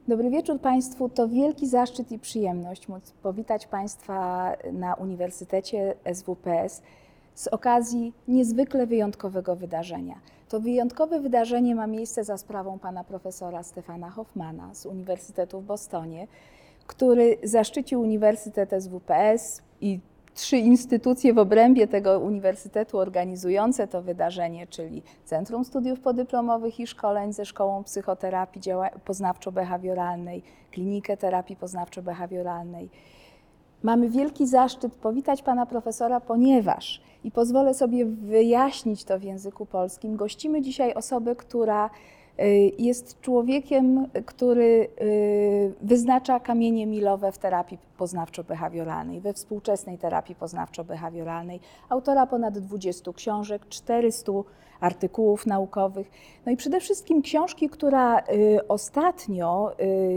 Dobry wieczór Państwu. To wielki zaszczyt i przyjemność móc powitać Państwa na Uniwersytecie SWPS z okazji niezwykle wyjątkowego wydarzenia. To wyjątkowe wydarzenie ma miejsce za sprawą pana profesora Stefana Hoffmana z Uniwersytetu w Bostonie, który zaszczycił Uniwersytet SWPS i 3 instytucje w obrębie tego uniwersytetu organizujące to wydarzenie, czyli Centrum Studiów Podyplomowych i Szkoleń ze Szkołą Psychoterapii Poznawczo-Behawioralnej, Klinikę Terapii Poznawczo-Behawioralnej. Mamy wielki zaszczyt powitać pana profesora, ponieważ, i pozwolę sobie wyjaśnić to w języku polskim, gościmy dzisiaj osobę, która jest człowiekiem, który wyznacza kamienie milowe w terapii poznawczo-behawioralnej, we współczesnej terapii poznawczo-behawioralnej, autora ponad 20 książek, 400 artykułów naukowych. No i przede wszystkim książki, która ostatnio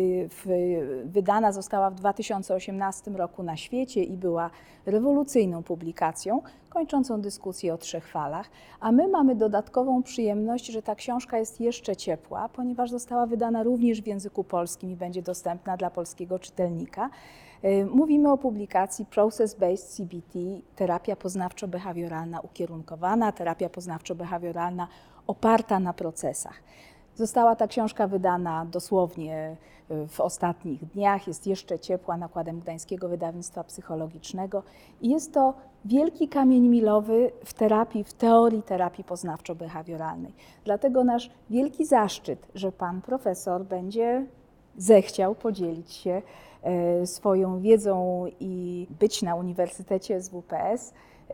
wydana została w 2018 roku na świecie i była rewolucyjną publikacją, kończącą dyskusję o 3 falach, a my mamy dodatkową przyjemność, że ta książka jest jeszcze ciepła, ponieważ została wydana również w języku polskim i będzie dostępna dla polskiego czytelnika. Mówimy o publikacji Process-Based CBT, terapia poznawczo-behawioralna ukierunkowana, terapia poznawczo-behawioralna oparta na procesach. Została ta książka wydana dosłownie w ostatnich dniach, jest jeszcze ciepła, nakładem Gdańskiego Wydawnictwa Psychologicznego i jest to wielki kamień milowy w terapii, w teorii terapii poznawczo-behawioralnej. Dlatego nasz wielki zaszczyt, że pan profesor będzie zechciał podzielić się swoją wiedzą i być na Uniwersytecie SWPS.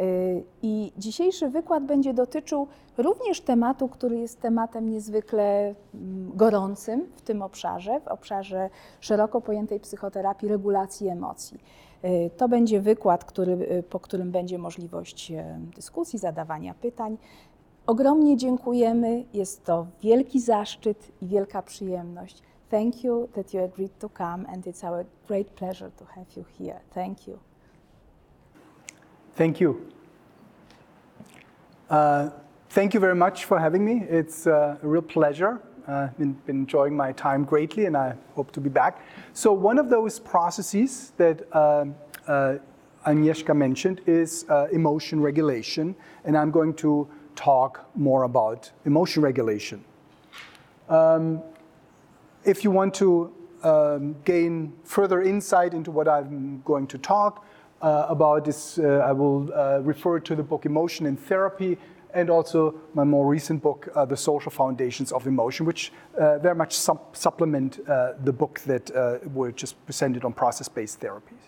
I dzisiejszy wykład będzie dotyczył również tematu, który jest tematem niezwykle gorącym w tym obszarze, w obszarze szeroko pojętej psychoterapii regulacji emocji. To będzie wykład, po którym będzie możliwość dyskusji, zadawania pytań. Ogromnie dziękujemy, jest to wielki zaszczyt i wielka przyjemność. Thank you that you agreed to come, and it's our great pleasure to have you here. Thank you. Thank you. Thank you very much for having me. It's a real pleasure. Been enjoying my time greatly, and I hope to be back. So one of those processes that Agnieszka mentioned is emotion regulation, and I'm going to talk more about emotion regulation. If you want to gain further insight into what I'm going to talk about this, I will refer to the book Emotion in Therapy and also my more recent book, The Social Foundations of Emotion, which very much supplement the book that were just presented on process-based therapies.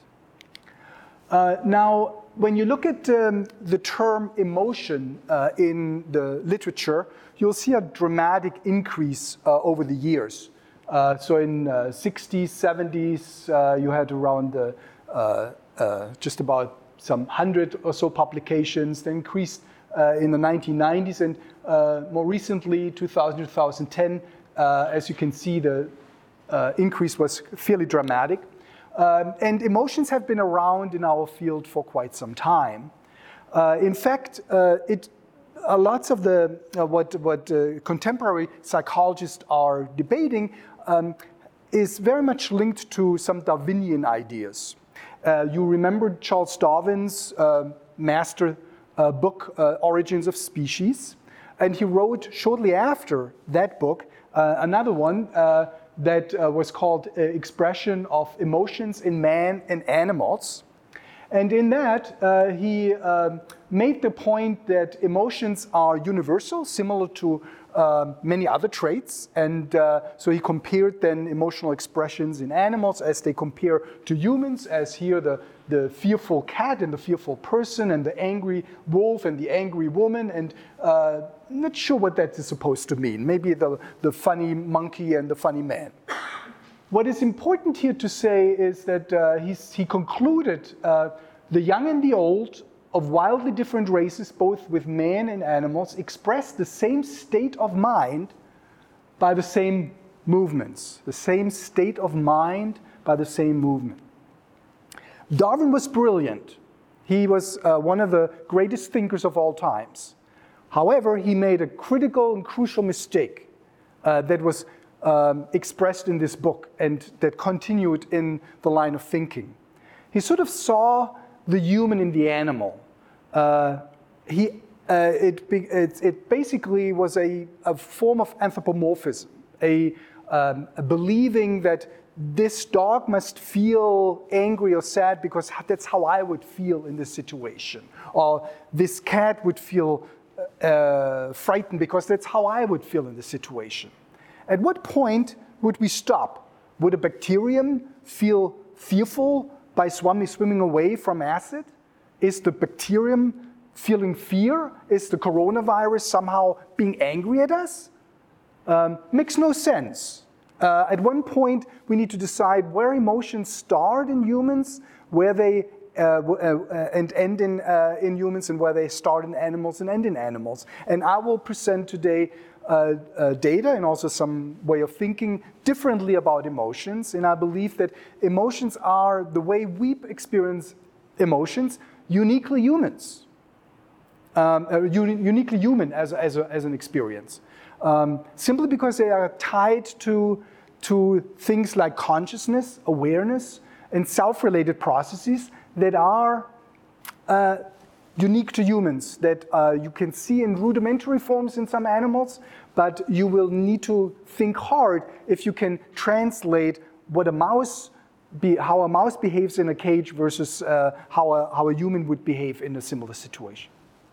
Now, when you look at the term emotion in the literature, you'll see a dramatic increase over the years. So in 60s, 70s, you had around just about some 100 or so publications. They increased in the 1990s, and more recently, 2000, 2010, as you can see, the increase was fairly dramatic. And emotions have been around in our field for quite some time. In fact, lots of the what contemporary psychologists are debating is very much linked to some Darwinian ideas. You remember Charles Darwin's master book, Origins of Species, and he wrote shortly after that book another one that was called Expression of Emotions in Man and Animals. And in that, he made the point that emotions are universal, similar to many other traits. And so he compared then emotional expressions in animals as they compare to humans, as here the fearful cat and the fearful person and the angry wolf and the angry woman. And I'm not sure what that is supposed to mean. Maybe the funny monkey and the funny man. What is important here to say is that he concluded the young and the old of wildly different races, both with man and animals, express the same state of mind by the same movements, the same state of mind by the same movement. Darwin was brilliant. He was one of the greatest thinkers of all times. However, he made a critical and crucial mistake that was expressed in this book and that continued in the line of thinking. He sort of saw the human in the animal. It basically was a form of anthropomorphism, a believing that this dog must feel angry or sad because that's how I would feel in this situation. Or this cat would feel frightened because that's how I would feel in this situation. At what point would we stop? Would a bacterium feel fearful by swimming away from acid? Is the bacterium feeling fear? Is the coronavirus somehow being angry at us? Makes no sense. At one point, we need to decide where emotions start in humans, where they and end in humans, and where they start in animals and end in animals. And I will present today data and also some way of thinking differently about emotions. And I believe that emotions are the way we experience emotions, uniquely humans, uniquely human as an experience. Simply because they are tied to things like consciousness, awareness, and self-related processes that are unique to humans, that you can see in rudimentary forms in some animals, but you will need to think hard if you can translate what how a mouse behaves in a cage versus how a human would behave in a similar situation.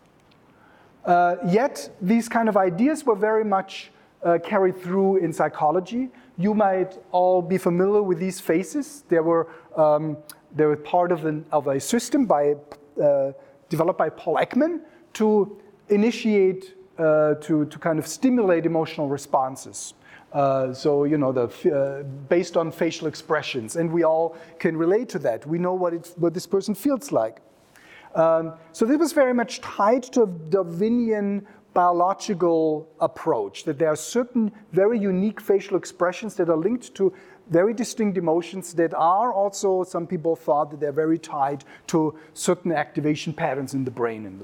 Yet, these kind of ideas were very much carried through in psychology. You might all be familiar with these faces. They were part of a system developed by Paul Ekman to initiate, to kind of stimulate emotional responses. So, you know, based on facial expressions, and we all can relate to that. We know what this person feels like. So this was very much tied to a Darwinian biological approach, that there are certain very unique facial expressions that are linked to very distinct emotions that are also, some people thought that they're very tied to certain activation patterns in the brain and the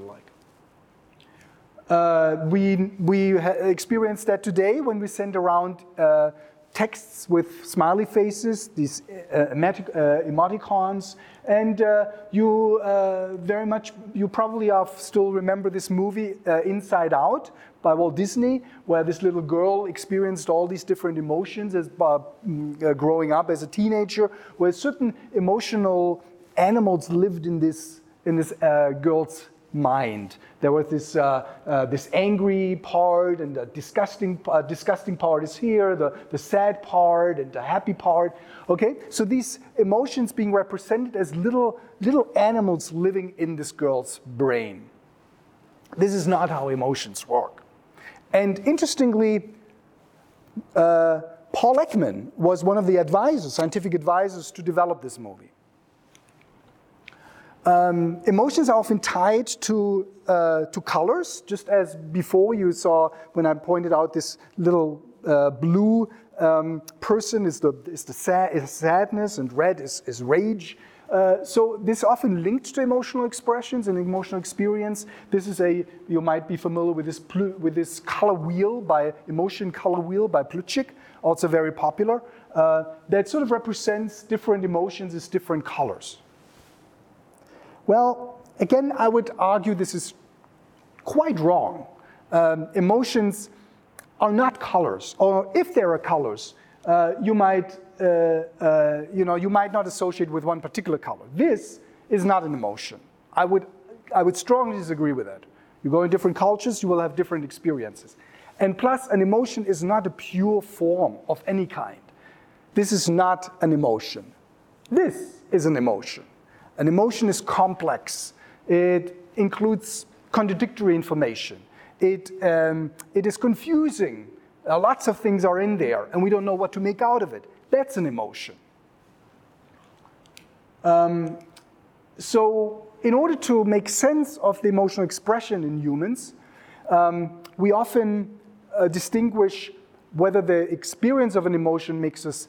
like. We experience that today when we send around texts with smiley faces, these emoticons, and you probably still remember this movie Inside Out by Walt Disney, where this little girl experienced all these different emotions as growing up as a teenager, where certain emotional animals lived in this girl's mind. There was this angry part, and the disgusting part is here, the sad part and the happy part. Okay, so these emotions being represented as little animals living in this girl's brain. This is not how emotions work. And interestingly, Paul Ekman was one of the scientific advisors to develop this movie. Emotions are often tied to colors, just as before you saw when I pointed out this little blue person is sadness, and red is rage. So this is often linked to emotional expressions and emotional experience. You might be familiar with this color wheel emotion color wheel by Plutchik, also very popular. That sort of represents different emotions as different colors. Well, again, I would argue this is quite wrong. Emotions are not colors, or if there are colors, you might not associate with one particular color. This is not an emotion. I would strongly disagree with that. You go in different cultures, you will have different experiences. And plus, an emotion is not a pure form of any kind. This is not an emotion. This is an emotion. An emotion is complex. It includes contradictory information. It is confusing. Lots of things are in there, and we don't know what to make out of it. That's an emotion. So in order to make sense of the emotional expression in humans, we often distinguish whether the experience of an emotion makes us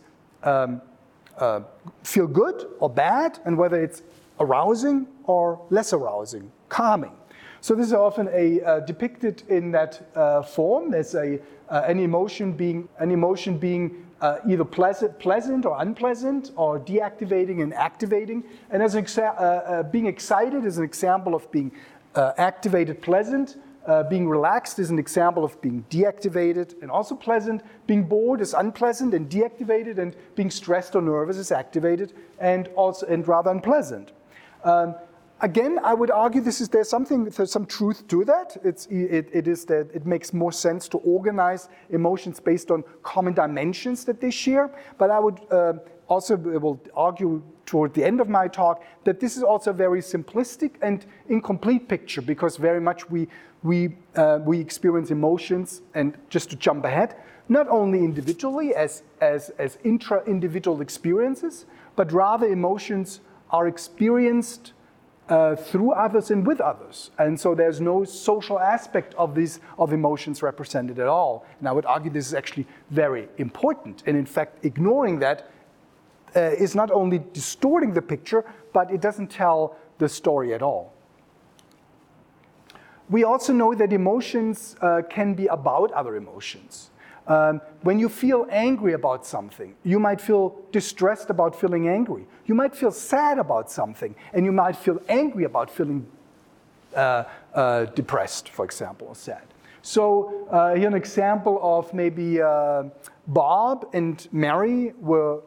feel good or bad, and whether it's arousing or less arousing, calming. So this is often depicted in that form as an emotion being either pleasant or unpleasant, or deactivating and activating. And as being excited is an example of being activated, pleasant. Being relaxed is an example of being deactivated and also pleasant. Being bored is unpleasant and deactivated, and being stressed or nervous is activated and rather unpleasant. Again, I would argue there's some truth to that. It is that it makes more sense to organize emotions based on common dimensions that they share. But I would will argue toward the end of my talk that this is also a very simplistic and incomplete picture, because very much we experience emotions, and just to jump ahead, not only individually as intra-individual experiences, but rather emotions are experienced through others and with others. And so there's no social aspect of emotions represented at all. And I would argue this is actually very important. And in fact, ignoring that is not only distorting the picture, but it doesn't tell the story at all. We also know that emotions can be about other emotions. When you feel angry about something, you might feel distressed about feeling angry. You might feel sad about something, and you might feel angry about feeling depressed, for example, or sad. So here an example of maybe Bob and Mary were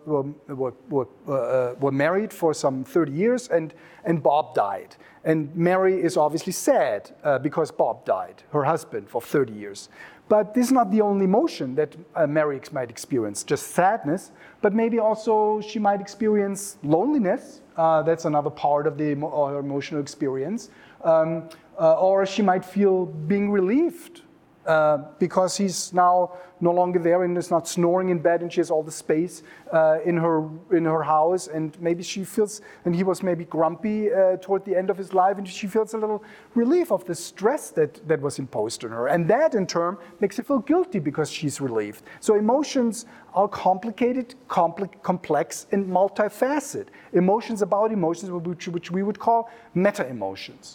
married for some 30 years, and Bob died. And Mary is obviously sad because Bob died, her husband, for 30 years. But this is not the only emotion that Mary might experience, just sadness, but maybe also she might experience loneliness. That's another part of the emotional experience. Or she might feel being relieved because he's now no longer there and is not snoring in bed, and she has all the space in her house, and maybe she feels, and he was maybe grumpy toward the end of his life, and she feels a little relief of the stress that was imposed on her, and that in turn makes her feel guilty because she's relieved. So emotions are complicated, complex, and multifaceted. Emotions about emotions, which we would call meta-emotions.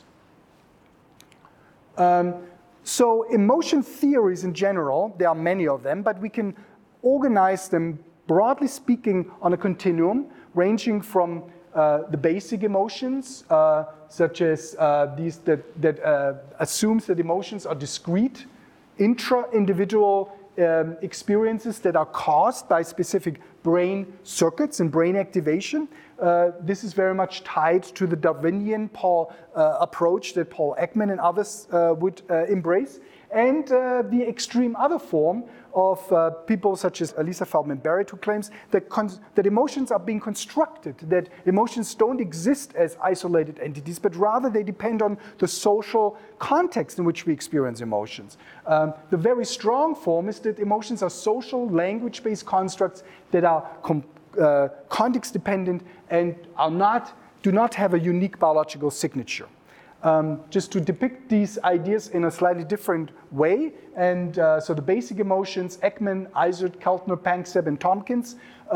So emotion theories in general, there are many of them, but we can organize them, broadly speaking, on a continuum, ranging from the basic emotions, such as these that assumes that emotions are discrete, intra-individual experiences that are caused by specific brain circuits and brain activation. This is very much tied to the Darwinian approach that Paul Ekman and others would embrace, and the extreme other form of people such as Elisa Feldman Barrett, who claims that emotions are being constructed, that emotions don't exist as isolated entities, but rather they depend on the social context in which we experience emotions. The very strong form is that emotions are social, language-based constructs that are context-dependent and do not have a unique biological signature. Just to depict these ideas in a slightly different way, and so the basic emotions, Ekman, Izard, Keltner, Panksepp, and Tompkins,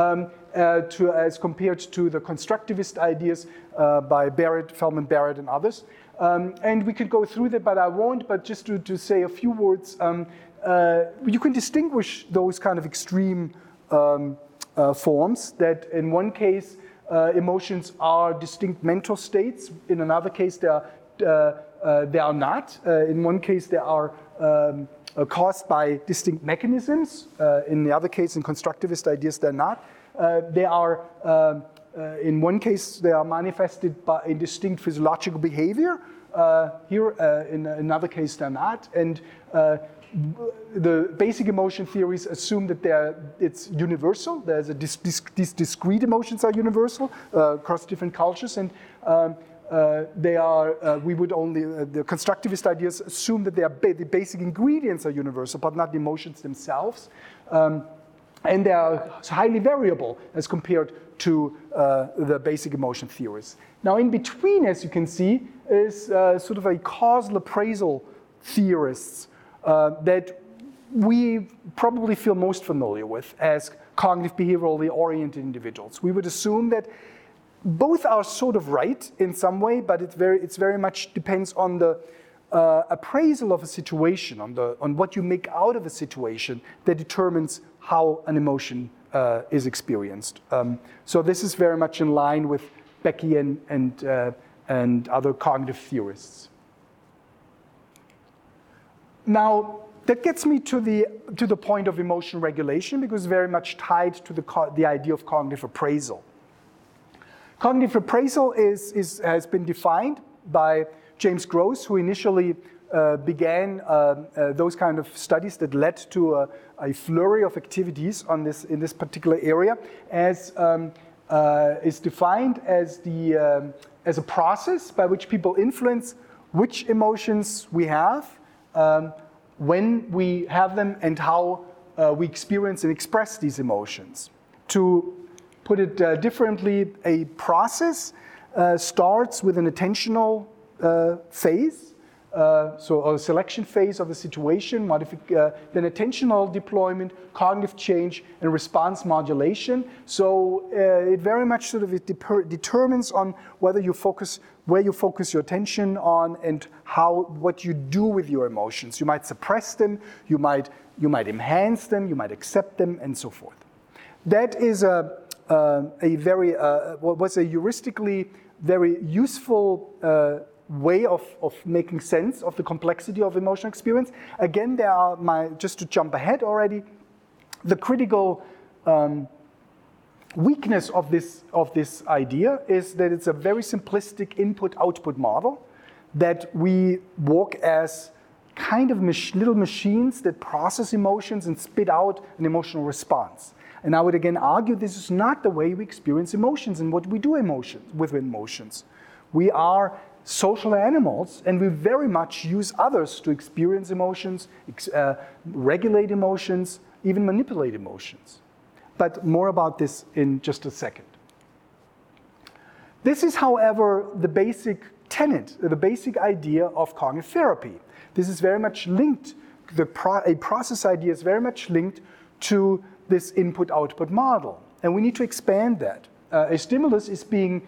as compared to the constructivist ideas by Barrett, Feldman Barrett, and others. And we could go through that, but I won't, but just to say a few words, you can distinguish those kind of extreme forms, that in one case, emotions are distinct mental states. In another case, they are not. In one case, they are caused by distinct mechanisms. In the other case, in constructivist ideas, they're not. They are, in one case, they are manifested in distinct physiological behavior. Here, in another case, they're not. And the basic emotion theories assume that it's universal. There's these discrete emotions are universal across different cultures, and they are. We would only the constructivist ideas assume that the basic ingredients are universal, but not the emotions themselves, and they are highly variable as compared to the basic emotion theories. Now, in between, as you can see, is sort of a causal appraisal theorists. That we probably feel most familiar with as cognitive behaviorally oriented individuals. We would assume that both are sort of right in some way, but it very much depends on the appraisal of a situation, on what you make out of a situation that determines how an emotion is experienced. So this is very much in line with Becky and other cognitive theorists. Now, that gets me to the point of emotion regulation, because it's very much tied to the idea of cognitive appraisal. Cognitive appraisal has been defined by James Gross, who initially began those kind of studies that led to a flurry of activities in this particular area, as is defined as a process by which people influence which emotions we have, when we have them, and how we experience and express these emotions. To put it differently, a process starts with an attentional phase, so a selection phase of the situation, then attentional deployment, cognitive change, and response modulation. So it very much sort of determines on where you focus your attention on, and what you do with your emotions. You might suppress them, you might enhance them, you might accept them, and so forth. That is a very was a heuristically very useful way of making sense of the complexity of emotional experience. Again, just to jump ahead already, the critical weakness of this idea is that it's a very simplistic input-output model, that we walk as kind of little machines that process emotions and spit out an emotional response. And I would again argue this is not the way we experience emotions and what we do with emotions. We are social animals, and we very much use others to experience emotions, regulate emotions, even manipulate emotions. But more about this in just a second. This is, however, the basic tenet, the basic idea of cognitive therapy. This is very much linked, a process idea is very much linked to this input-output model. And we need to expand that. A stimulus is being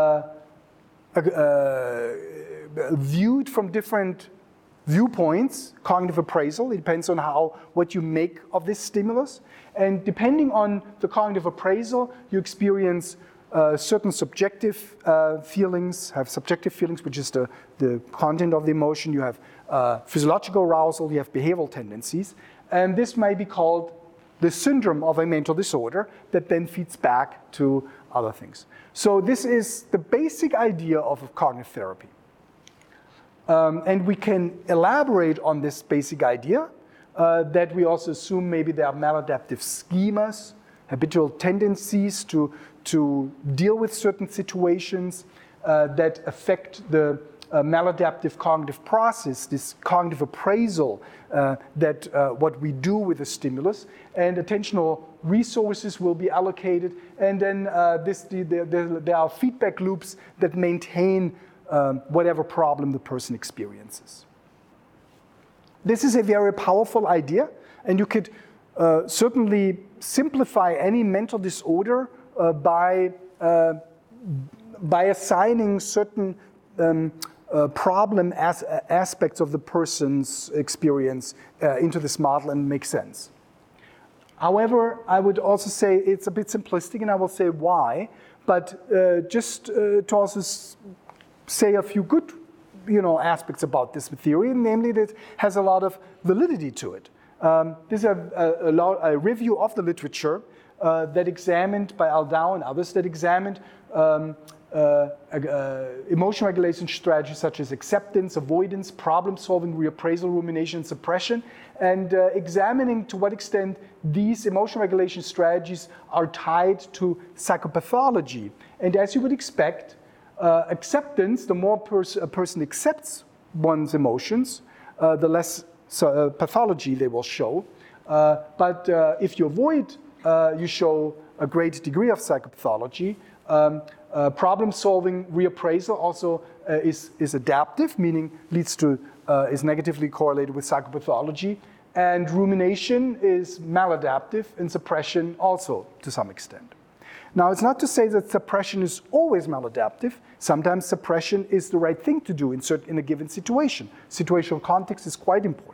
viewed from different viewpoints. Cognitive appraisal, it depends on what you make of this stimulus. And depending on the cognitive appraisal, you experience certain subjective feelings, which is the content of the emotion. You have physiological arousal, you have behavioral tendencies. And this may be called the syndrome of a mental disorder that then feeds back to other things. So this is the basic idea of cognitive therapy. And we can elaborate on this basic idea that we also assume maybe there are maladaptive schemas, habitual tendencies to deal with certain situations that affect the maladaptive cognitive process, this cognitive appraisal that what we do with the stimulus, and attentional resources will be allocated, and then there are feedback loops that maintain whatever problem the person experiences. This is a very powerful idea, and you could certainly simplify any mental disorder by assigning certain problem aspects of the person's experience into this model and make sense. However, I would also say it's a bit simplistic, and I will say why, but just to also say a few good aspects about this theory, namely that it has a lot of validity to it. This is a review of the literature that examined, by Aldao and others, that examined emotion regulation strategies such as acceptance, avoidance, problem-solving, reappraisal, rumination, suppression, and examining to what extent these emotion regulation strategies are tied to psychopathology. And as you would expect, acceptance, the more a person accepts one's emotions, the less pathology they will show. But if you avoid, you show a great degree of psychopathology. Problem-solving reappraisal also is adaptive, meaning is negatively correlated with psychopathology. And rumination is maladaptive, and suppression also to some extent. Now, it's not to say that suppression is always maladaptive. Sometimes suppression is the right thing to do in a given situation. Situational context is quite important.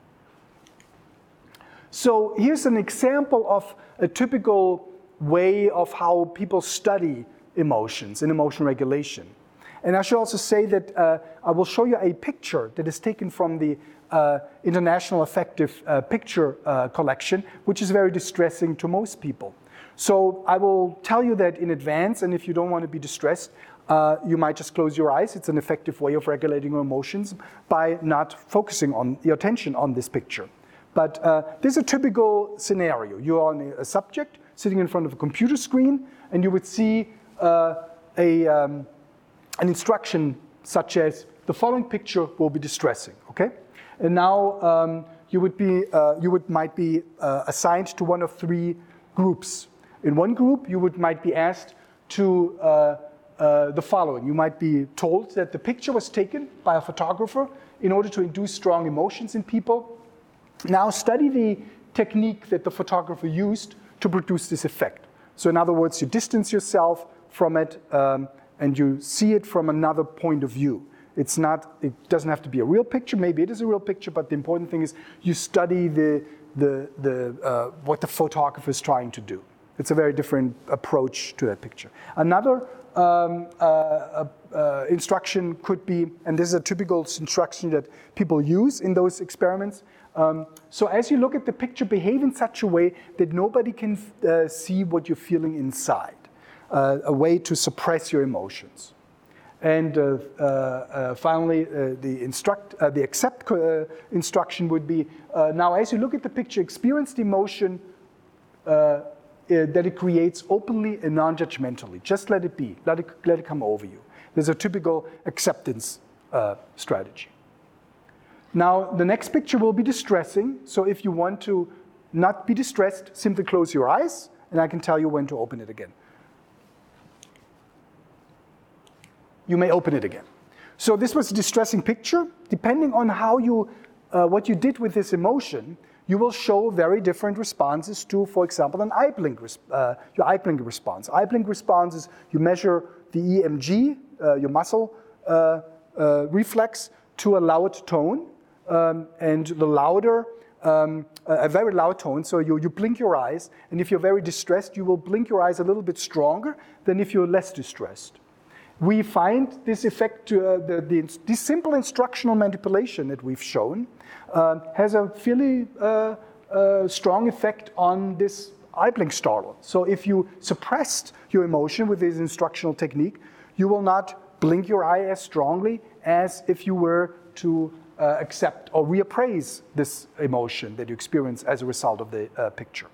So here's an example of a typical way of how people study emotions and emotion regulation. And I should also say that I will show you a picture that is taken from the International Affective Picture Collection, which is very distressing to most people. So I will tell you that in advance, and if you don't want to be distressed, you might just close your eyes. It's an effective way of regulating your emotions by not focusing on your attention on this picture. But this is a typical scenario. You're on a subject sitting in front of a computer screen, and you would see an instruction such as the following picture will be distressing. Okay, and now you might be assigned to one of three groups. In one group, you might be asked to the following. You might be told that the picture was taken by a photographer in order to induce strong emotions in people. Now study the technique that the photographer used to produce this effect. So in other words, you distance yourself from it and you see it from another point of view. It doesn't have to be a real picture. Maybe it is a real picture, but the important thing is you study what the photographer is trying to do. It's a very different approach to that picture. Another instruction could be, and this is a typical instruction that people use in those experiments. So as you look at the picture, behave in such a way that nobody can see what you're feeling inside. A way to suppress your emotions. And finally, the accept instruction would be, now as you look at the picture, experience the emotion that it creates openly and non-judgmentally. Just let it be, let it come over you. There's a typical acceptance strategy. Now, the next picture will be distressing, so if you want to not be distressed, simply close your eyes, and I can tell you when to open it again. You may open it again. So this was a distressing picture. Depending on how what you did with this emotion, you will show very different responses to, for example, your eye blink response. Eye blink response is you measure the EMG, your muscle reflex, to a loud tone, and the louder, a very loud tone, so you blink your eyes, and if you're very distressed, you will blink your eyes a little bit stronger than if you're less distressed. We find this effect, this simple instructional manipulation that we've shown has a fairly strong effect on this eye blink startle. So if you suppressed your emotion with this instructional technique, you will not blink your eye as strongly as if you were to accept or reappraise this emotion that you experience as a result of the picture.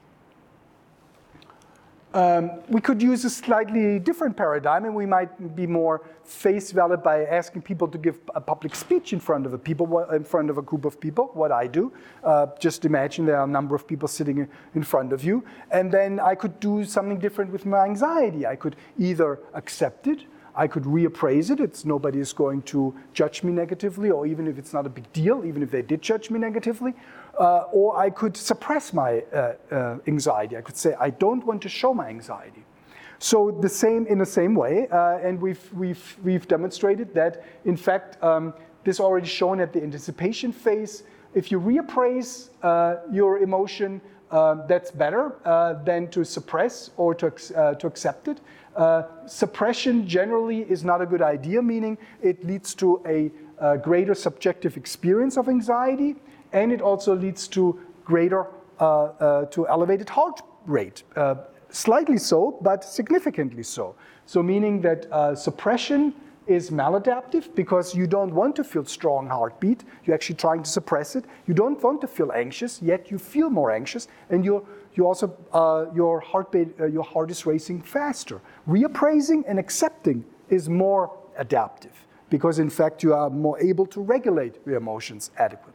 We could use a slightly different paradigm, and we might be more face valid by asking people to give a public speech in front of a group of people, what I do. Just imagine there are a number of people sitting in front of you, and then I could do something different with my anxiety. I could either accept it, I could reappraise it. Nobody is going to judge me negatively, or even if it's not a big deal, even if they did judge me negatively. Or I could suppress my anxiety. I could say, I don't want to show my anxiety. So in the same way, and we've demonstrated that, in fact, this already shown at the anticipation phase. If you reappraise your emotion, that's better than to suppress or to accept it. Suppression generally is not a good idea, meaning it leads to a greater subjective experience of anxiety, and it also leads to to elevated heart rate. Slightly so, but significantly so. So meaning that suppression is maladaptive because you don't want to feel strong heartbeat. You're actually trying to suppress it. You don't want to feel anxious, yet you feel more anxious, and your heart is racing faster. Reappraising and accepting is more adaptive because, in fact, you are more able to regulate your emotions adequately.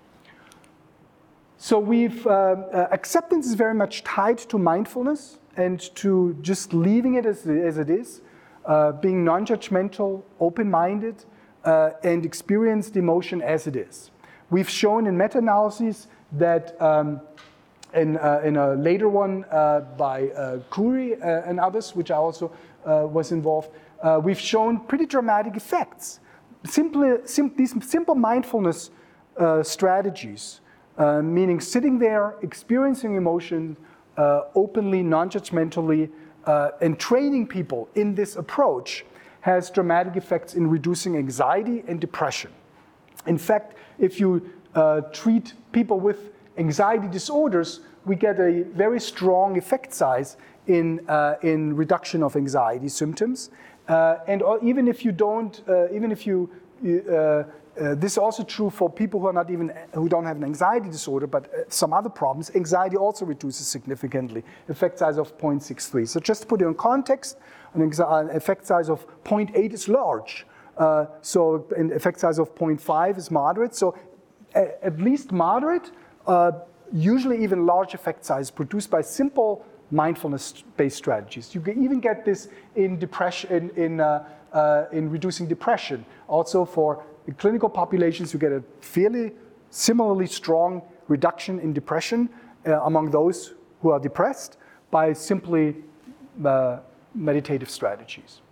So acceptance is very much tied to mindfulness and to just leaving it as it is, being non-judgmental, open-minded, and experience the emotion as it is. We've shown in meta-analyses that in a later one by Khoury and others, which I also was involved, we've shown pretty dramatic effects. These simple mindfulness strategies, meaning sitting there, experiencing emotion openly, non-judgmentally, and training people in this approach has dramatic effects in reducing anxiety and depression. In fact, if you treat people with anxiety disorders, we get a very strong effect size in reduction of anxiety symptoms. And even if you don't, this is also true for people who don't have an anxiety disorder, but some other problems. Anxiety also reduces significantly. Effect size of 0.63. So just to put it in context, an effect size of 0.8 is large. So an effect size of 0.5 is moderate. So at least moderate, usually even large effect size produced by simple mindfulness-based strategies. You can even get this in depression, in reducing depression. Also for clinical populations, you get a fairly similarly strong reduction in depression among those who are depressed by simply meditative strategies.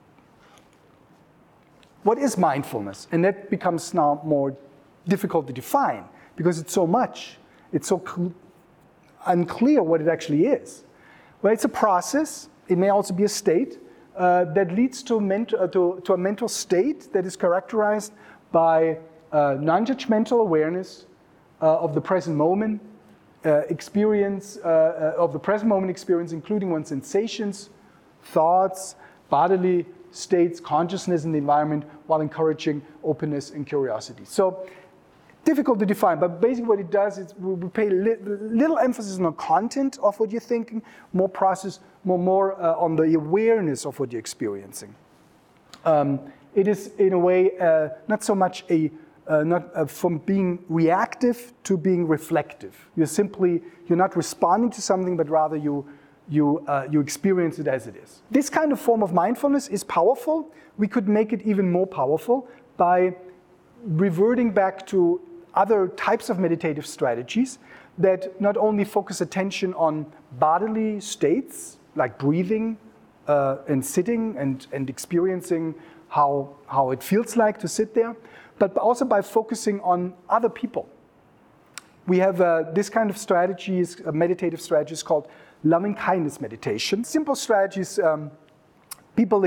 What is mindfulness? And that becomes now more difficult to define because it's so much. It's so unclear what it actually is. Well, it's a process. It may also be a state that leads to a mental state that is characterized by non-judgmental awareness of the present moment, experience of the present moment experience, including one's sensations, thoughts, bodily states, consciousness in the environment, while encouraging openness and curiosity. So difficult to define, but basically what it does is we pay little emphasis on the content of what you're thinking, more process, more on the awareness of what you're experiencing. It is in a way not so much from being reactive to being reflective. You're not responding to something, but rather you experience it as it is. This kind of form of mindfulness is powerful. We could make it even more powerful by reverting back to other types of meditative strategies that not only focus attention on bodily states, like breathing and sitting and experiencing how it feels like to sit there, but also by focusing on other people. We have this kind of strategies, meditative strategies called loving kindness meditation. Simple strategies, people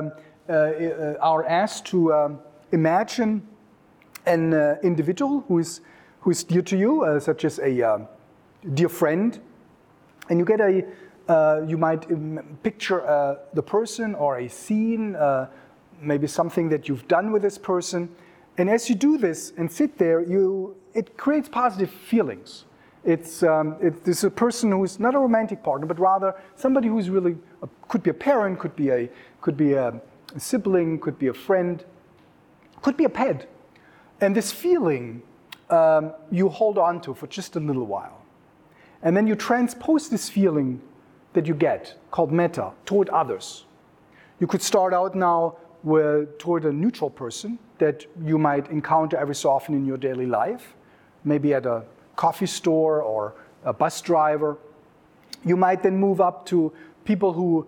are asked to imagine an individual who is dear to you, such as a dear friend, and you might picture the person or a scene, maybe something that you've done with this person, and as you do this and sit there, it creates positive feelings. It's a person who is not a romantic partner, but rather somebody who's really could be a parent, could be a sibling, could be a friend, could be a pet. And this feeling you hold on to for just a little while. And then you transpose this feeling that you get, called metta, toward others. You could start out now toward a neutral person that you might encounter every so often in your daily life, maybe at a coffee store or a bus driver. You might then move up to people who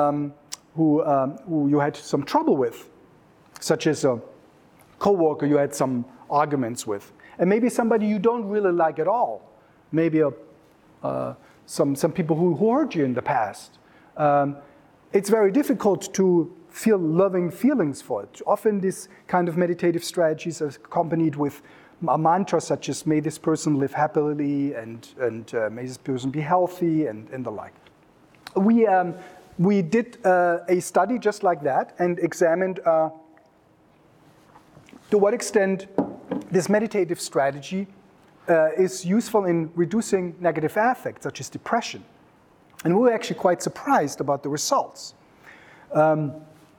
you had some trouble with, such as a coworker you had some arguments with, and maybe somebody you don't really like at all, maybe some people who hurt you in the past. It's very difficult to feel loving feelings for it. Often this kind of meditative strategies are accompanied with a mantra such as "May this person live happily" and "May this person be healthy" and the like. We did a study just like that and examined to what extent this meditative strategy is useful in reducing negative affect, such as depression. And we were actually quite surprised about the results. The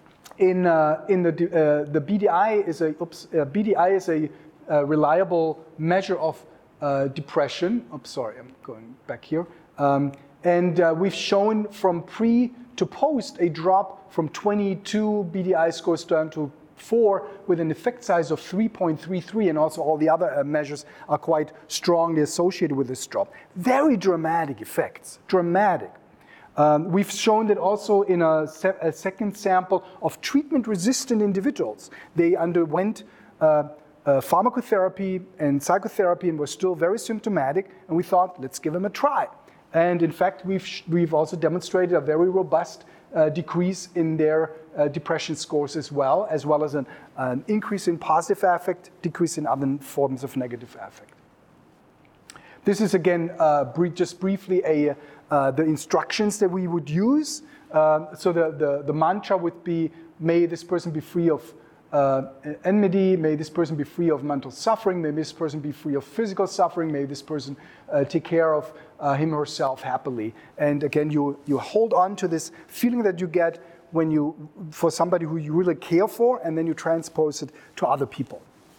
BDI is a reliable measure of depression. I'm sorry, I'm going back here. And we've shown from pre to post a drop from 22 BDI scores down to 4 with an effect size of 3.33, and also all the other measures are quite strongly associated with this drop. Very dramatic effects, dramatic. We've shown that also in a second sample of treatment-resistant individuals. They underwent pharmacotherapy and psychotherapy and were still very symptomatic, and we thought, let's give them a try. And in fact, we've also demonstrated a very robust decrease in their depression scores as well as an increase in positive affect, decrease in other forms of negative affect. This is again, just briefly, the instructions that we would use. So the mantra would be, may this person be free of enmity, may this person be free of mental suffering, may this person be free of physical suffering, may this person take care of him or herself happily. And again, you hold on to this feeling that you get for somebody who you really care for, and then you transpose it to other people.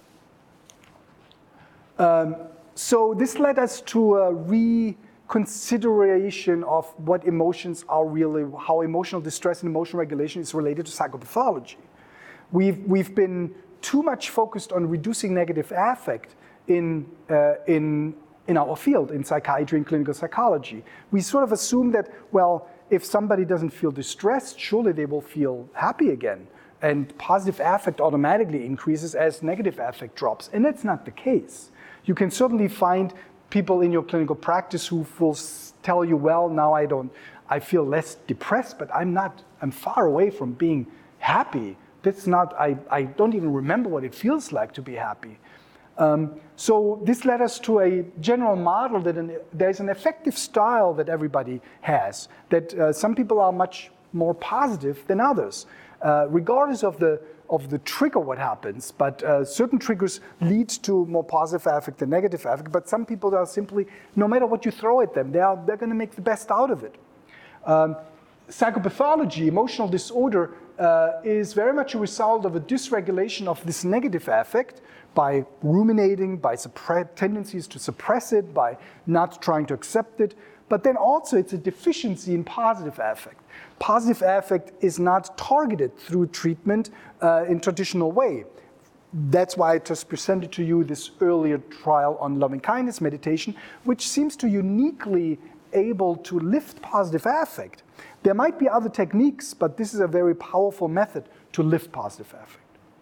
So this led us to a reconsideration of what emotions are really, how emotional distress and emotional regulation is related to psychopathology. We've been too much focused on reducing negative affect in our field, in psychiatry and clinical psychology. We sort of assume that, well, if somebody doesn't feel distressed, surely they will feel happy again. And positive affect automatically increases as negative affect drops. And that's not the case. You can certainly find people in your clinical practice who will tell you, well, now I feel less depressed, but I'm far away from being happy. That's not, I don't even remember what it feels like to be happy. So this led us to a general model that there's an affective style that everybody has, that some people are much more positive than others, regardless of the trigger what happens, but certain triggers lead to more positive affect than negative affect, but some people are simply, no matter what you throw at them, they're going to make the best out of it. Psychopathology, emotional disorder, is very much a result of a dysregulation of this negative affect by ruminating, by tendencies to suppress it, by not trying to accept it. But then also it's a deficiency in positive affect. Positive affect is not targeted through treatment in traditional way. That's why I just presented to you this earlier trial on loving kindness meditation, which seems to uniquely able to lift positive affect. There might be other techniques, but this is a very powerful method to lift positive affect.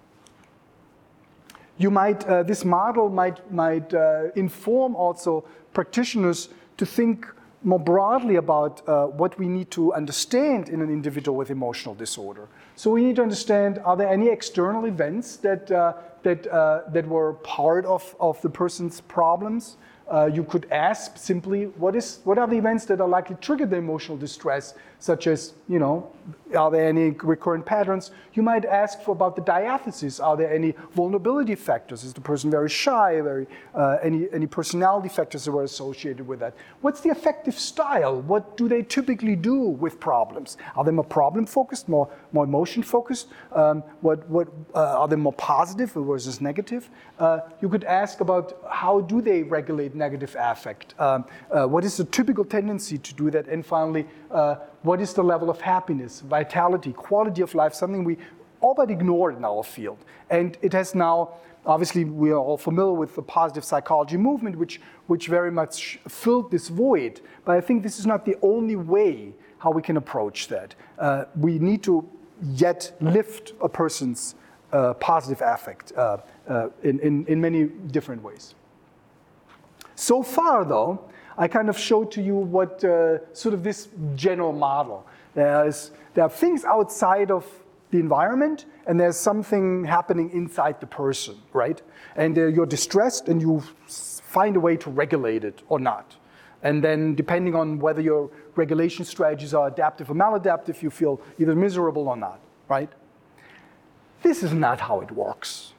This model might inform also practitioners to think more broadly about what we need to understand in an individual with emotional disorder. So we need to understand, are there any external events that were part of the person's problems? You could ask simply, what are the events that are likely to trigger the emotional distress, such as, are there any recurrent patterns? You might ask about the diathesis. Are there any vulnerability factors? Is the person very shy? Any personality factors that were associated with that? What's the affective style? What do they typically do with problems? Are they more problem-focused, more emotion-focused? Are they more positive versus negative? You could ask about how do they regulate negative affect? What is the typical tendency to do that? And finally, what is the level of happiness, vitality, quality of life, something we all but ignored in our field. And it has now, obviously we are all familiar with the positive psychology movement, which very much filled this void. But I think this is not the only way how we can approach that. We need to yet lift a person's positive affect in many different ways. So far, though, I kind of showed to you what sort of this general model. There are things outside of the environment, and there's something happening inside the person, right? And you're distressed, and you find a way to regulate it or not. And then, depending on whether your regulation strategies are adaptive or maladaptive, you feel either miserable or not, right? This is not how it works.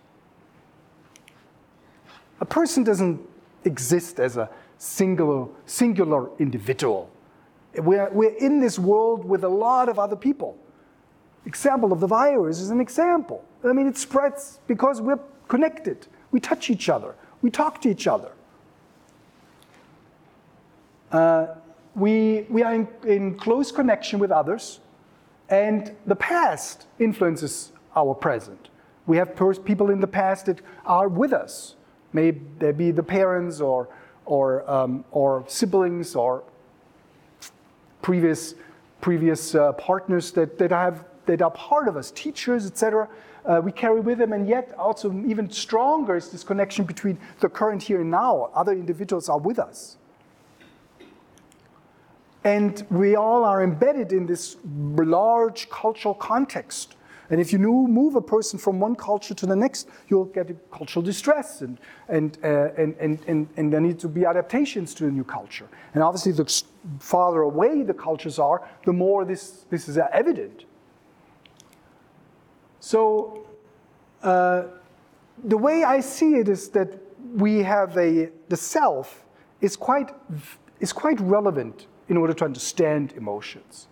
A person doesn't exist as a singular individual. We're in this world with a lot of other people. Example of the virus is an example. I mean, it spreads because we're connected. We touch each other. We talk to each other. We are in close connection with others, and the past influences our present. We have people in the past that are with us. Maybe they be the parents or siblings or previous partners that are part of us, teachers, etc. We carry with them, and yet also even stronger is this connection between the current here and now. Other individuals are with us. And we all are embedded in this large cultural context. And if you move a person from one culture to the next, you'll get a cultural distress, and there need to be adaptations to a new culture. And obviously, the farther away the cultures are, the more this is evident. So, the way I see it is that we have the self is quite relevant in order to understand emotions.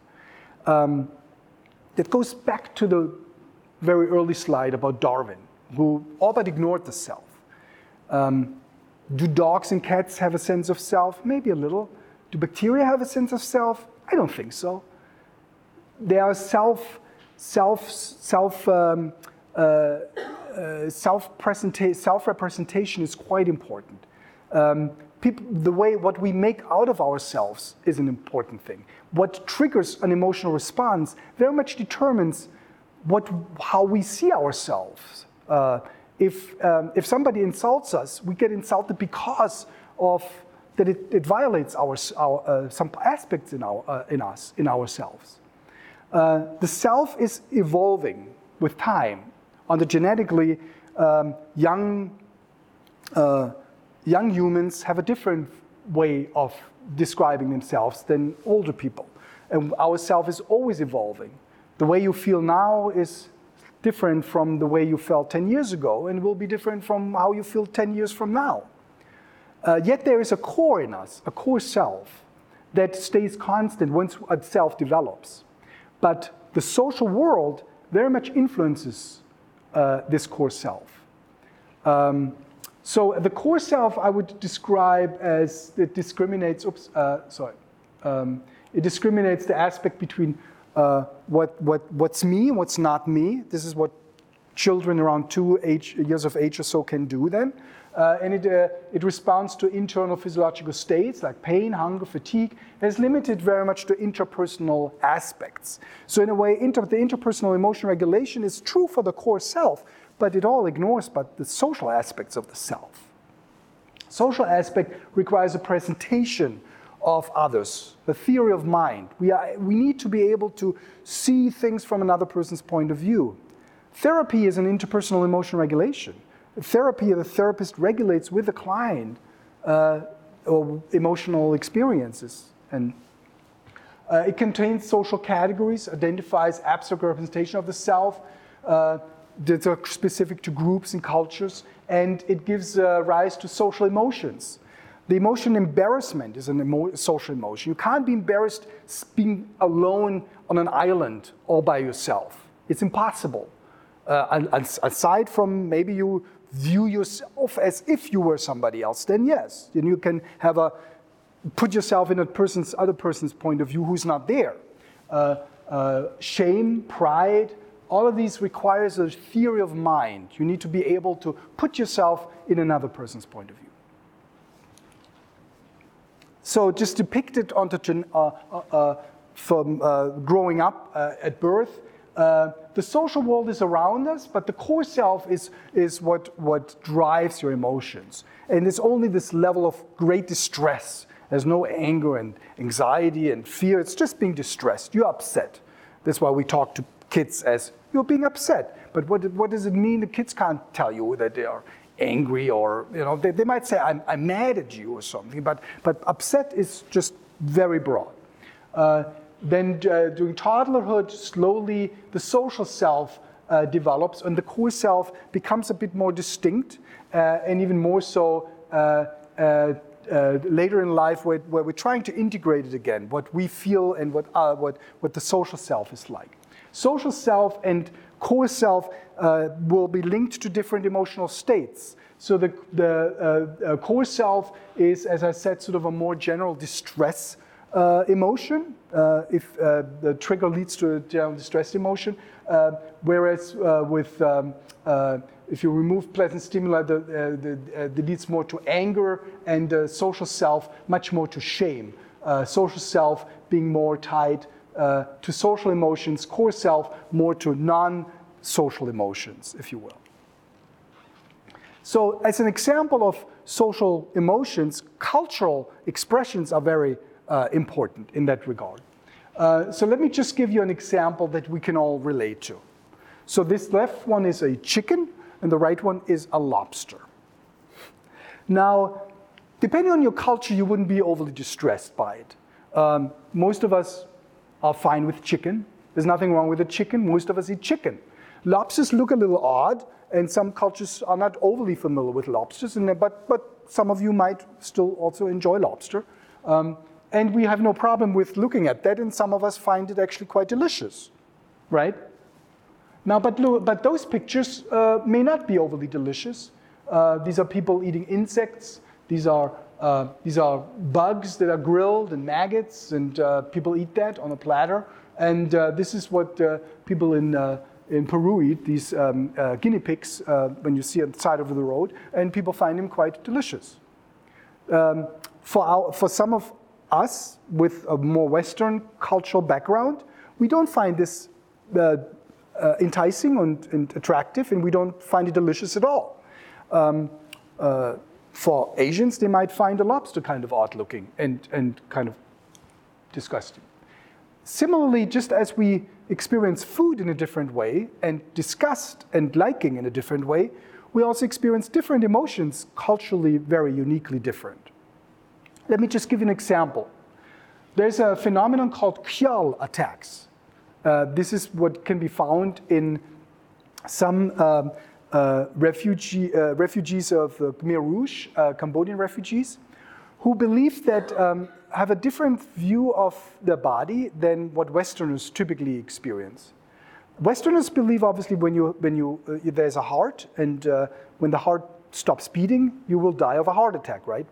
That goes back to the very early slide about Darwin, who all but ignored the self. Do dogs and cats have a sense of self? Maybe a little. Do bacteria have a sense of self? I don't think so. Their self-representation is quite important. What we make out of ourselves is an important thing. What triggers an emotional response very much determines how we see ourselves. If somebody insults us, we get insulted because of that it violates some aspects in ourselves. The self is evolving with time. On the genetically, young humans have a different way of describing themselves than older people. And our self is always evolving. The way you feel now is different from the way you felt 10 years ago, and will be different from how you feel 10 years from now. Yet there is a core in us, a core self, that stays constant once a self develops. But the social world very much influences this core self. So the core self I would describe as it discriminates. It discriminates the aspect between what's me and what's not me. This is what children around 2 years of age or so can do then. And it responds to internal physiological states like pain, hunger, fatigue. It's limited very much to interpersonal aspects. So in a way, the interpersonal emotion regulation is true for the core self, but it all ignores the social aspects of the self. Social aspect requires a presentation of others, the theory of mind. We need to be able to see things from another person's point of view. Therapy is an interpersonal emotion regulation. Therapy, the therapist regulates with the client or emotional experiences. And it contains social categories, identifies abstract representation of the self that are specific to groups and cultures, and it gives rise to social emotions. The emotion embarrassment is a social emotion. You can't be embarrassed being alone on an island all by yourself. It's impossible. Aside from maybe you view yourself as if you were somebody else, then yes, then you can put yourself in other person's point of view who's not there. Shame, pride, all of these requires a theory of mind. You need to be able to put yourself in another person's point of view. So just depicted from growing up at birth, the social world is around us, but the core self is what drives your emotions. And it's only this level of great distress. There's no anger and anxiety and fear. It's just being distressed. You're upset. That's why we talk to kids as, you're being upset. But what does it mean? The kids can't tell you that they are angry, or they might say, I'm mad at you or something. But upset is just very broad. Then during toddlerhood, slowly the social self develops, and the core self becomes a bit more distinct, and even more so later in life, where we're trying to integrate it again, what we feel and what the social self is like. Social self and core self will be linked to different emotional states. So the core self is, as I said, sort of a more general distress emotion, if the trigger leads to a general distressed emotion, whereas if you remove pleasant stimuli, that leads more to anger, and social self much more to shame. Social self being more tied to social emotions, core self more to non-social emotions, if you will. So as an example of social emotions, cultural expressions are very important in that regard. So let me just give you an example that we can all relate to. So this left one is a chicken, and the right one is a lobster. Now, depending on your culture, you wouldn't be overly distressed by it. Most of us are fine with chicken. There's nothing wrong with a chicken. Most of us eat chicken. Lobsters look a little odd, and some cultures are not overly familiar with lobsters, but some of you might still also enjoy lobster. And we have no problem with looking at that, and some of us find it actually quite delicious, right? Now, but those pictures may not be overly delicious. These are people eating insects. These are bugs that are grilled and maggots, and people eat that on a platter. And this is what people in Peru eat, these guinea pigs, when you see on the side of the road, and people find them quite delicious. For some of us with a more Western cultural background, we don't find this enticing and attractive, and we don't find it delicious at all. For Asians, they might find a lobster kind of odd looking and kind of disgusting. Similarly, just as we experience food in a different way and disgust and liking in a different way, we also experience different emotions, culturally very uniquely different. Let me just give you an example. There's a phenomenon called Kjol attacks. This is what can be found in some refugees of Khmer Rouge, Cambodian refugees, who believe that have a different view of their body than what Westerners typically experience. Westerners believe, obviously, when there's a heart, and when the heart stops beating, you will die of a heart attack, right?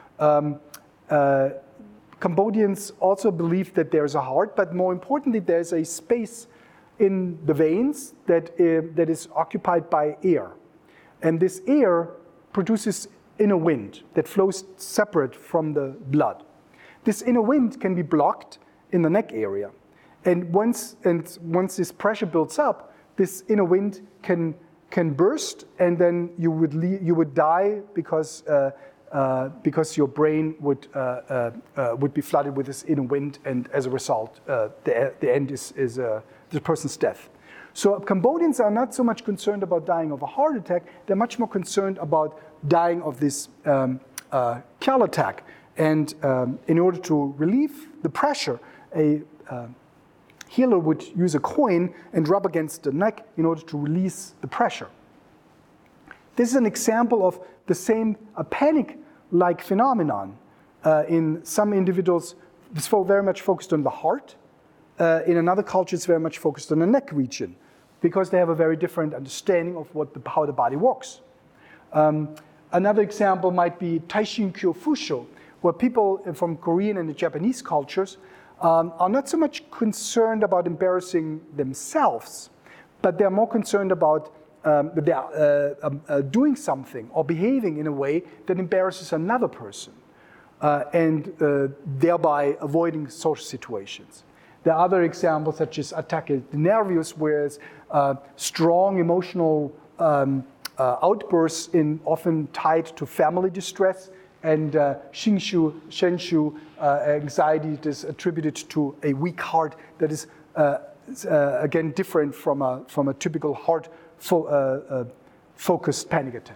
Cambodians also believe that there's a heart, but more importantly, there's a space in the veins that is occupied by air. And this air produces inner wind that flows separate from the blood. This inner wind can be blocked in the neck area. And once this pressure builds up, this inner wind can burst, and then you would die because your brain would be flooded with this inner wind, and as a result, the end is the person's death. So Cambodians are not so much concerned about dying of a heart attack; they're much more concerned about dying of this Kjol attack. And in order to relieve the pressure, a healer would use a coin and rub against the neck in order to release the pressure. This is an example of the same panic-like phenomenon. In some individuals, it's very much focused on the heart. In another culture, it's very much focused on the neck region, because they have a very different understanding of how the body works. Another example might be Taishin Kyo Fusho, where people from Korean and the Japanese cultures are not so much concerned about embarrassing themselves, but they're more concerned about doing something or behaving in a way that embarrasses another person, and thereby avoiding social situations. There are other examples, such as ataque de nervios, where strong emotional outbursts often tied to family distress, and shenshu, anxiety that is attributed to a weak heart that is, again, different from a typical heart-focused panic attack.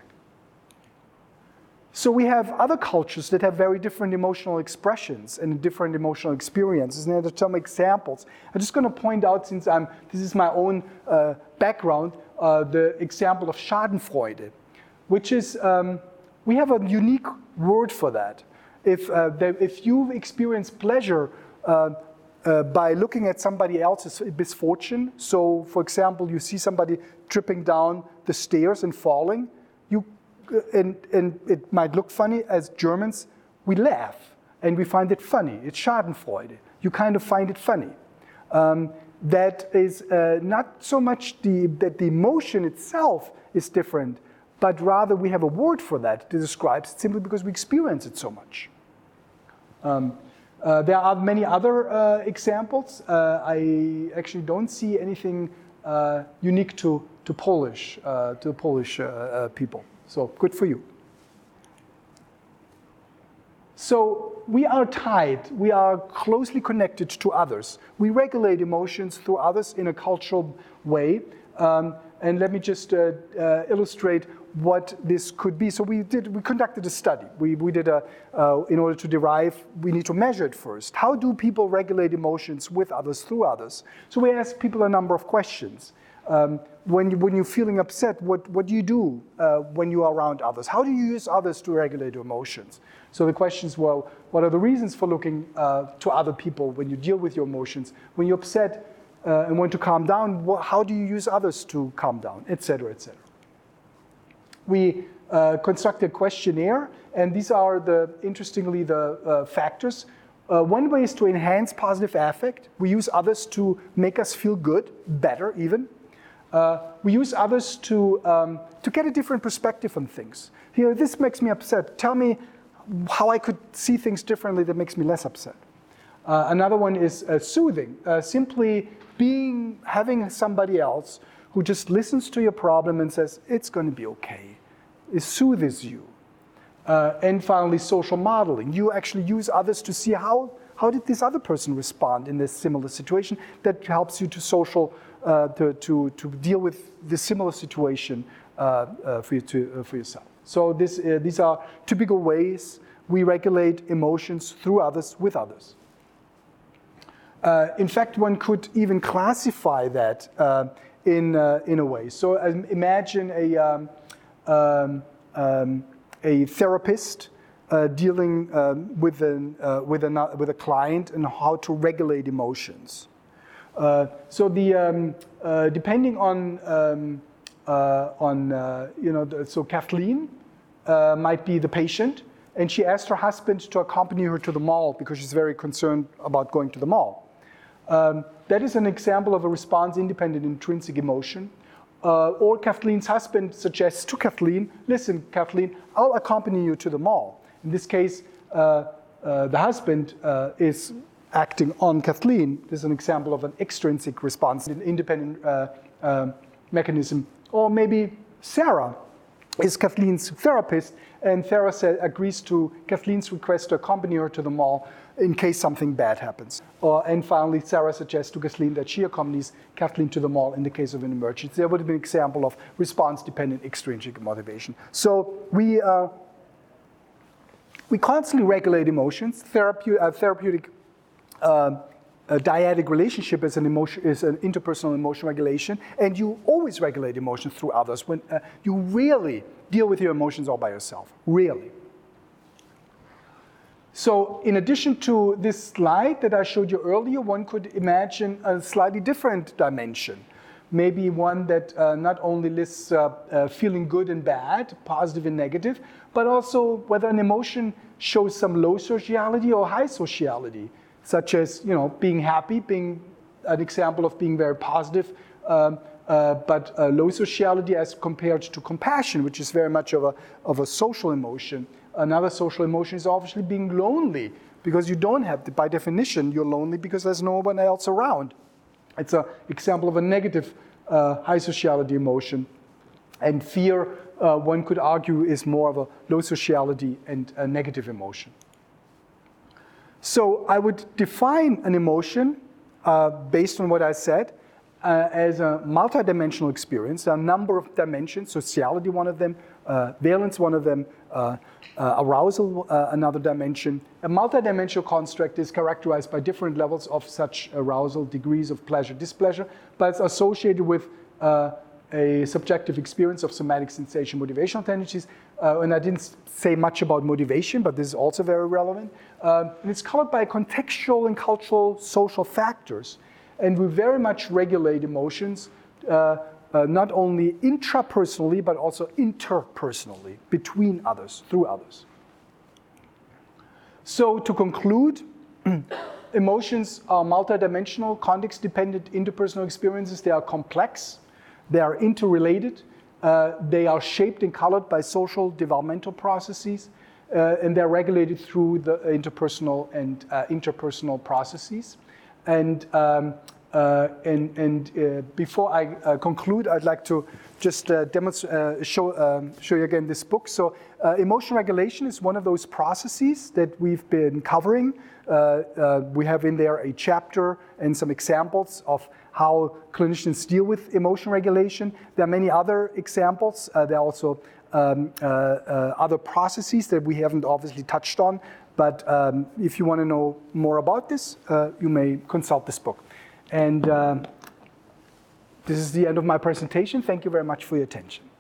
So we have other cultures that have very different emotional expressions and different emotional experiences. And there are some examples. I'm just going to point out, since this is my own background, the example of Schadenfreude, which is, we have a unique word for that. If you experience pleasure by looking at somebody else's misfortune, so for example, you see somebody tripping down the stairs and falling, and it might look funny. As Germans, we laugh and we find it funny. It's Schadenfreude. You kind of find it funny. That is not so much that the emotion itself is different, but rather we have a word for that to describe it simply because we experience it so much. There are many other examples. I actually don't see anything unique to Polish people. So good for you. So we are tied, we are closely connected to others. We regulate emotions through others in a cultural way. And let me just illustrate what this could be. So we conducted a study. We did in order to derive, we need to measure it first. How do people regulate emotions with others, through others? So we asked people a number of questions. When you're feeling upset, what do you do when you are around others? How do you use others to regulate your emotions? So the questions were, what are the reasons for looking to other people when you deal with your emotions? When you're upset and want to calm down, how do you use others to calm down, et cetera, et cetera. We constructed a questionnaire, and these are, interestingly, the factors. One way is to enhance positive affect. We use others to make us feel good, better even. We use others to get a different perspective on things. Here, this makes me upset. Tell me how I could see things differently that makes me less upset. Another one is soothing. Simply having somebody else who just listens to your problem and says, it's going to be okay. It soothes you. And finally, social modeling. You actually use others to see how did this other person respond in this similar situation. That helps you to deal with the similar situation for yourself. So these are typical ways we regulate emotions through others, with others. In fact, one could even classify that in a way. So imagine a therapist dealing with a client and how to regulate emotions. So depending on so Kathleen might be the patient, and she asked her husband to accompany her to the mall because she's very concerned about going to the mall. That is an example of a response-independent intrinsic emotion. Or Kathleen's husband suggests to Kathleen, listen, Kathleen, I'll accompany you to the mall. In this case, the husband is acting on Kathleen. This is an example of an extrinsic response, an independent mechanism. Or maybe Sarah is Kathleen's therapist, and Sarah agrees to Kathleen's request to accompany her to the mall in case something bad happens. And finally, Sarah suggests to Kathleen that she accompanies Kathleen to the mall in the case of an emergency. That would have been an example of response-dependent extrinsic motivation. So we constantly regulate emotions. Therapeutic dyadic relationship is an interpersonal emotion regulation, and you always regulate emotions through others. When you rarely deal with your emotions all by yourself, really. So in addition to this slide that I showed you earlier, one could imagine a slightly different dimension. Maybe one that not only lists feeling good and bad, positive and negative, but also whether an emotion shows some low sociality or high sociality, such as being happy, being an example of being very positive, but low sociality as compared to compassion, which is very much of a social emotion. Another social emotion is obviously being lonely, because you don't have, by definition, you're lonely because there's no one else around. It's an example of a negative high sociality emotion. And fear, one could argue, is more of a low sociality and a negative emotion. So I would define an emotion based on what I said as a multidimensional experience. There are a number of dimensions, sociality one of them, valence one of them, arousal another dimension. A multidimensional construct is characterized by different levels of such arousal, degrees of pleasure, displeasure, but it's associated with a subjective experience of somatic sensation, motivational tendencies. And I didn't say much about motivation, but this is also very relevant. And it's colored by contextual and cultural social factors. And we very much regulate emotions, not only intrapersonally, but also interpersonally, between others, through others. So to conclude, emotions are multidimensional, context-dependent interpersonal experiences. They are complex, they are interrelated, they are shaped and colored by social developmental processes, and they're regulated through the interpersonal and interpersonal processes. And before I conclude, I'd like to just show you again this book. So emotion regulation is one of those processes that we've been covering. We have in there a chapter and some examples of how clinicians deal with emotion regulation. There are many other examples. There are also other processes that we haven't obviously touched on. But if you want to know more about this, you may consult this book. And this is the end of my presentation. Thank you very much for your attention.